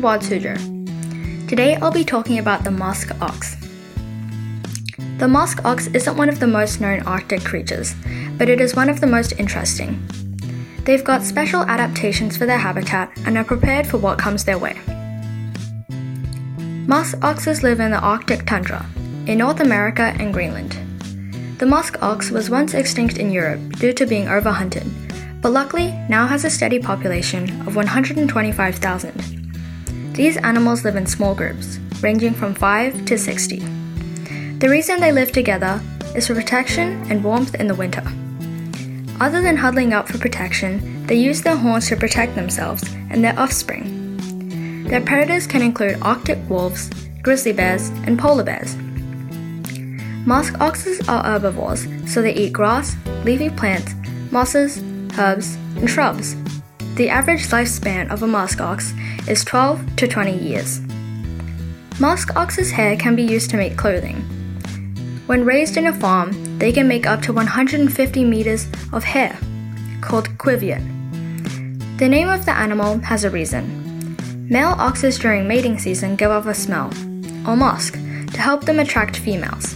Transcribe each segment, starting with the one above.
Edward Suzhou. Today I'll be talking about the musk ox. The musk ox isn't one of the most known Arctic creatures, but it is one of the most interesting. They've got special adaptations for their habitat and are prepared for what comes their way. Musk oxes live in the Arctic tundra, in North America and Greenland. The musk ox was once extinct in Europe due to being overhunted, but luckily now has a steady population of 125,000. These animals live in small groups, ranging from 5 to 60. The reason they live together is for protection and warmth in the winter. Other than huddling up for protection, they use their horns to protect themselves and their offspring. Their predators can include Arctic wolves, grizzly bears, and polar bears. Musk oxes are herbivores, so they eat grass, leafy plants, mosses, herbs, and shrubs. The average lifespan of a musk ox is 12 to 20 years. Musk ox's hair can be used to make clothing. When raised in a farm, they can make up to 150 meters of hair, called quiviot. The name of the animal has a reason. Male oxes during mating season give off a smell, or musk, to help them attract females.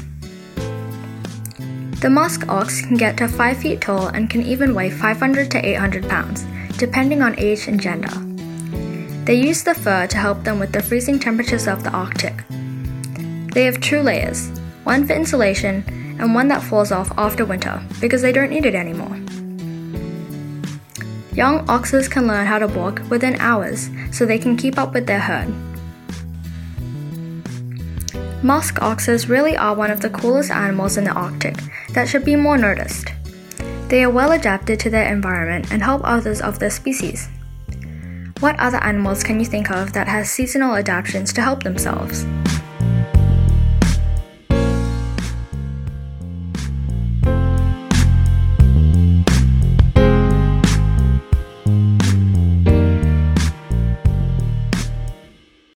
The musk ox can get to 5 feet tall and can even weigh 500 to 800 pounds, depending on age and gender. They use the fur to help them with the freezing temperatures of the Arctic. They have 2 layers, one for insulation and one that falls off after winter because they don't need it anymore. Young oxes can learn how to walk within hours so they can keep up with their herd. Musk oxes really are one of the coolest animals in the Arctic that should be more noticed. They are well adapted to their environment and help others of their species. What other animals can you think of that has seasonal adaptations to help themselves?